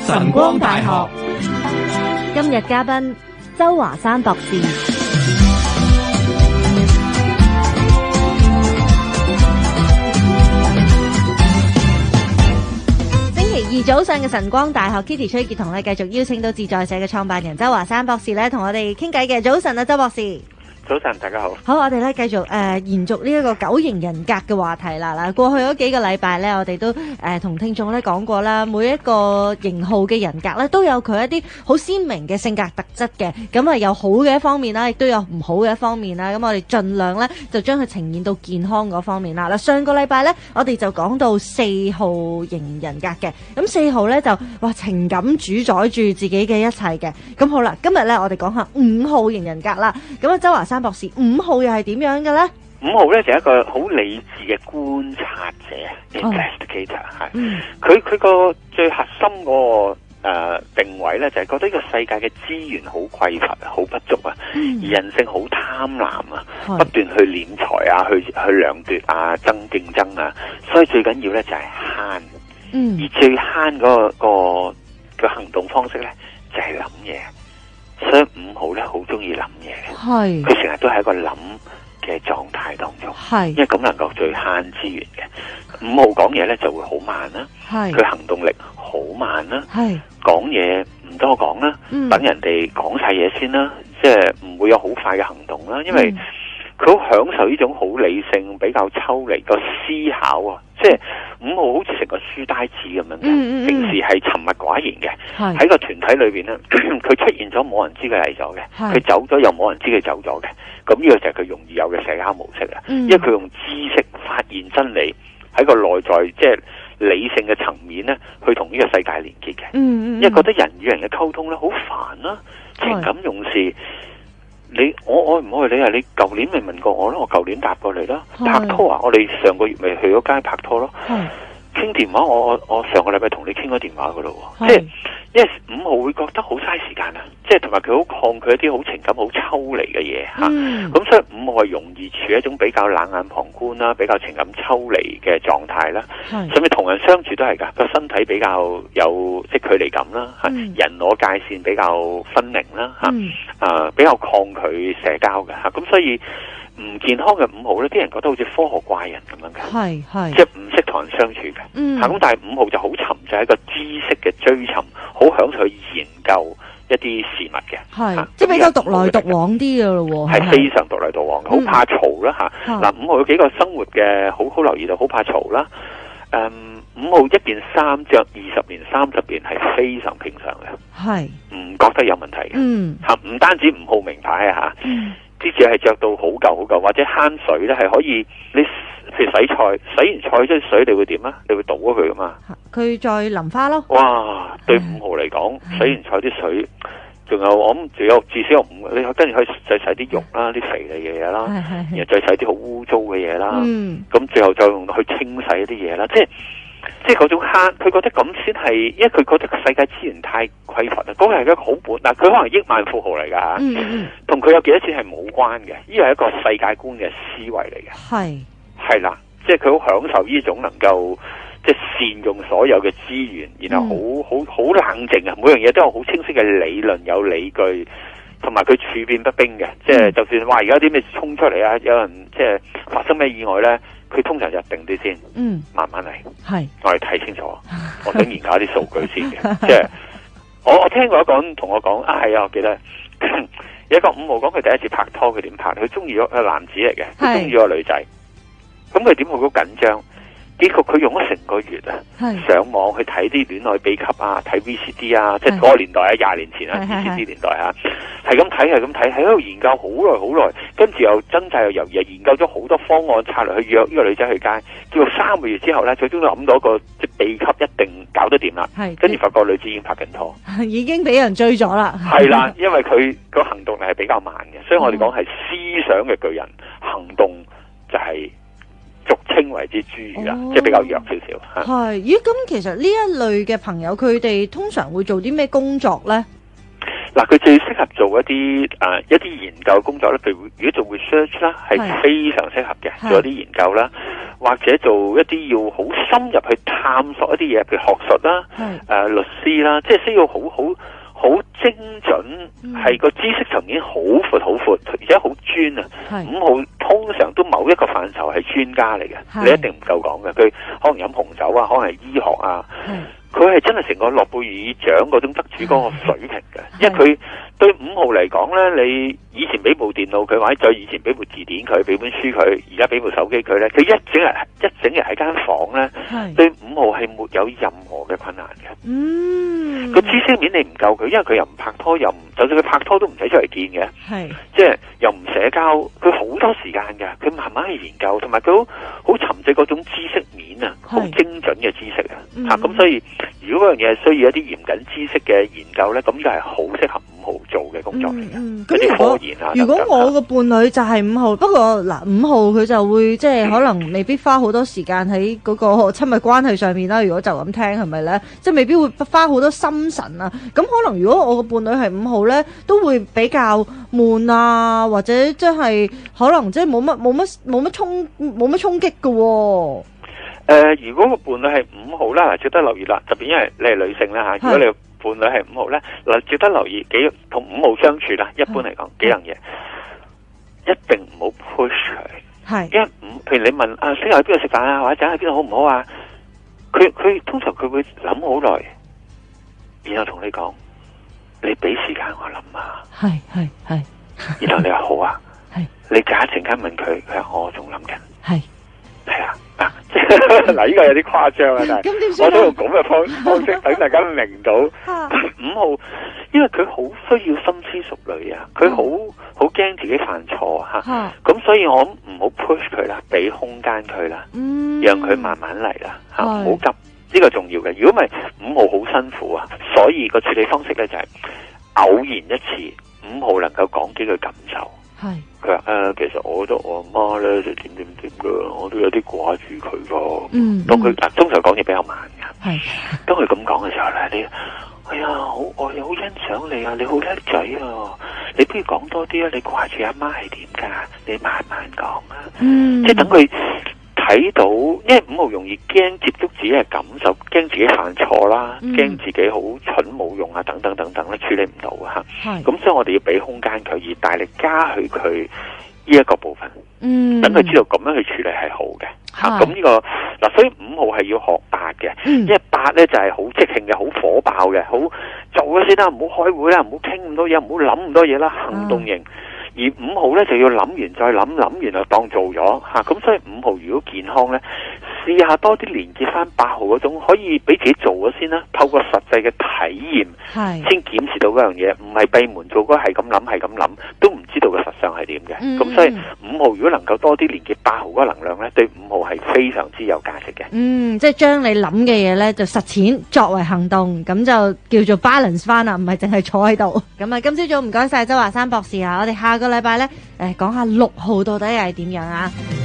晨光大學今日嘉賓周華山博士。星期二早上嘅晨光大學 Kitty 崔潔彤咧，繼續邀請到自在社嘅創辦人周華山博士咧，同我哋傾偈嘅。早晨啊，周博士。 早晨，大家好。 好，我哋咧繼續延續呢一個九型人格嘅話題啦。嗱，過去嗰幾個禮拜咧，我哋都同聽眾咧講過啦，每一個型號嘅人格咧都有佢一啲好鮮明嘅性格特質嘅。咁啊，有好嘅一方面啦，亦都有唔好嘅一方面啦。咁我哋盡量咧就將佢呈現到健康嗰方面啦。嗱，上個禮拜咧，我哋就講到4號型人格嘅。咁4號咧就情感主宰住自己嘅一切嘅。咁好啦，今日咧我哋講下5號型人格啦。咁啊，周華山博士，5號又係點樣嘅咧？5 號咧就係一個好理智嘅觀察者 ，investigator 係。佢個最核心嗰個定位咧，就係覺得呢個世界嘅資源好匱乏、好不足啊，而人性好貪婪啊，不斷去斂財啊，去量奪啊，爭競爭啊，所以最緊要咧就係慳。而最慳嗰個行動方式咧，就係諗嘢。所以5號咧好中意諗嘢嘅，佢成日都喺一個諗嘅狀態當中，因為咁能夠最慳資源嘅。5號講嘢咧就會好慢啦，佢行動力好慢啦，講嘢唔多講啦，等人哋講晒嘢先啦，即係唔會有好快嘅行動啦，因為佢好享受呢種好理性、比較抽離個思考啊！即係5號好似成個書呆子咁樣嘅，平時係沉默寡言嘅，喺個團體裏邊咧，佢出現咗冇人知佢嚟咗嘅，佢走咗又冇人知佢走咗嘅。咁呢個就係佢容易有嘅社交模式啦。因為佢用知識發現真理，喺個內在即係理性嘅層面咧，去同呢個世界連結嘅。因為覺得人與人嘅溝通咧好煩啦，情感用事。我愛唔愛你啊？你舊年咪問過我咯，我舊年答過你啦。拍拖啊，我哋上個月咪去咗街拍拖咯。傾電話，我上個禮拜同你傾咗電話噶咯。即係因為5號會覺得好嘥時間啊，即係同埋佢好抗拒一啲好情感好抽離嘅嘢吓。咁所以5號係容易處於一種比較冷眼旁觀啦，比較情感抽離嘅狀態啦。甚至同人相處都係噶，個身體比較有即係距離感啦，人我界線比較分明啦，比較抗拒社交嘅吓。咁所以唔健康嘅5號咧，啲人覺得好似科學怪人咁樣嘅，即係唔識同人相處嘅。咁但係5號就好沉醉喺個知識嘅追尋，好享受去研究一啲事物嘅， 即係比較獨來獨往啲嘅咯， 係非常獨來獨往嘅，好怕嘈啦吓。嗱，5號有幾個生活嘅好留意到，好怕嘈啦。5號一件衫着20年、30年係非常平常嘅，唔覺得有問題嘅。吓，唔單止5號名牌啊吓。啲字係着到好舊，或者慳水咧，係可以你譬如洗菜，洗完菜即係水，你會點啊？你會倒咗佢噶嘛？佢再淋花咯。哇！對5號嚟講，洗完菜啲水，仲有我諗，仲有至少有5，你跟住可以再洗啲肉啦，啲肥膩嘅嘢啦，然後再洗啲好污糟嘅嘢啦。咁最後再用去清洗一啲嘢啦，即係嗰種慳，佢覺得咁先係，因為佢覺得個世界資源太匱乏啦。嗰個係一個好本，嗱，佢可能億萬富豪嚟噶吓，同佢有幾多錢係冇關嘅，呢個係一個世界觀嘅思維嚟嘅。係啦，即係佢好享受呢種能夠即係善用所有嘅資源，然後好冷靜啊，每樣嘢都有好清晰嘅理論，有理據，同埋佢處變不驚嘅，即係就算話而家啲咩衝出嚟啊，有人即係發生咩意外咧。佢通常就定啲先，慢慢嚟。我哋睇清楚。我想研究一啲數據先嘅，即係我聽過一個人同我講，係啊，我記得有一個5號講佢第一次拍拖，佢點拍？佢中意咗個男子嚟嘅，佢中意咗個女仔，咁佢點會好緊張？結果佢用咗成個月啊，上網去睇啲戀愛秘笈啊，睇 VCD 啊，即係嗰個年代啊，20年前啊 VCD 年代啊，係咁睇，喺度研究好耐，跟住又掙扎又猶豫，研究咗好多方案策略去約呢個女仔去街，叫做3個月之後咧，最終都諗到一個即係秘笈一定搞得掂啦，跟住發覺女子已經拍緊拖， 已經俾人追咗啦， 係啦，因為佢個行動力係比較慢嘅，所以我哋講係思想嘅巨人，行動就係俗稱為之侏儒啦，即係比較弱少少。咦，咁其實呢一類嘅朋友，佢哋通常會做啲咩工作咧？ 嗱，佢最適合做一啲研究工作咧，譬如如果做 research 啦，係非常適合嘅，做一啲研究啦，或者做一啲要好深入去探索一啲嘢，譬如學術啦，律師啦，即係需要好精準，係個知識層面好闊好闊，而且好專啊。5號通常都某一個範疇係專家嚟嘅，你一定唔夠講嘅。佢可能飲紅酒啊，可能係醫學啊。佢係真係成個諾貝爾獎嗰種得主嗰個水平嘅，因為佢對5號嚟講咧，你以前俾部電腦佢，或者再以前俾部字典佢，俾本書佢，而家俾部手機佢咧，佢一整日喺間房咧，對5號係沒有任何嘅困難嘅。個知識面你唔夠佢，因為佢又唔拍拖，就算佢拍拖都唔使出嚟見嘅，即係又唔社交，佢好多時間嘅，佢慢慢去研究，同埋佢好沉醉嗰種知識面啊，好精準嘅知識啊，咁所以如果嗰樣嘢係需要一啲嚴謹知識嘅研究咧，咁就係好適合5號做嘅工作嚟嘅。 咁如果我個伴侶就係5號，不過嗱5號佢就會即係可能未必花好多時間喺嗰個親密關係上面啦。如果就咁聽係咪咧？即係未必會花好多心神啊。咁可能如果我個伴侶係5號咧，都會比較悶啊，或者即係可能即係冇乜衝擊嘅喎。 如果個伴侶係5號啦，值得留意啦，特別因為你係女性啦嚇，如果你伴侶係5號咧，嗱值得留意同5號相處啦，一般嚟講幾樣嘢，一定唔好 push 佢，因為譬如你問星期喺邊度食飯啊，或者喺邊度好唔好啊，佢通常佢會諗好耐，然後同你講，你俾時間我諗啊，係，然後你話好啊，你隔一陣間問佢，佢話我仲諗緊，係啊。嗱，呢個有啲誇張啊，但係我都用咁嘅方式等大家明到5號，因為佢好需要深思熟慮啊，佢好驚自己犯錯吓，咁所以我唔好 push 佢啦，俾空間佢啦，讓佢慢慢嚟啦，吓唔好急，呢個重要嘅。如果唔係5號好辛苦啊，所以個處理方式咧就係偶然一次5號能夠講幾句感受。佢話其實我覺得我阿媽咧就點噶，我都有啲掛住佢噶。當佢通常講嘢比較慢噶。當佢咁講嘅時候咧，你哎呀，我又好欣賞你啊，你好叻仔啊，你不如講多啲啊，你掛住阿媽係點噶？你慢慢講啊。即係等佢睇到，因為5號容易驚接觸自己嘅感受，驚自己犯錯啦，驚自己好蠢冇用啊，等等等等咧，處理唔到啊吓。咁所以我哋要俾空間佢，而大力加許佢呢一個部分，等佢知道咁樣去處理係好嘅吓。咁呢個嗱，所以5號係要學8嘅，因為8咧就係好即興嘅，好火爆嘅，好做咗先啦，唔好開會啦，唔好傾咁多嘢，唔好諗咁多嘢啦，行動型。而5號咧就要諗完再諗，諗完就當做咗吓。咁所以5號如果健康咧，試下多啲連結翻8號嗰種，可以俾自己做咗先啦。透過實際嘅體驗，先檢視到嗰樣嘢，唔係閉門做嗰係咁諗，都唔知道嘅實相係點嘅。咁所以5號如果能夠多啲連結8號嗰個能量咧，對5號係非常之有價值嘅。即係將你諗嘅嘢咧就實踐作為行動，咁就叫做 balance 翻啦，唔係淨係坐喺度。咁啊，今朝早唔該晒周華山博士啊，我哋下個禮拜咧講下6號到底係點樣啊？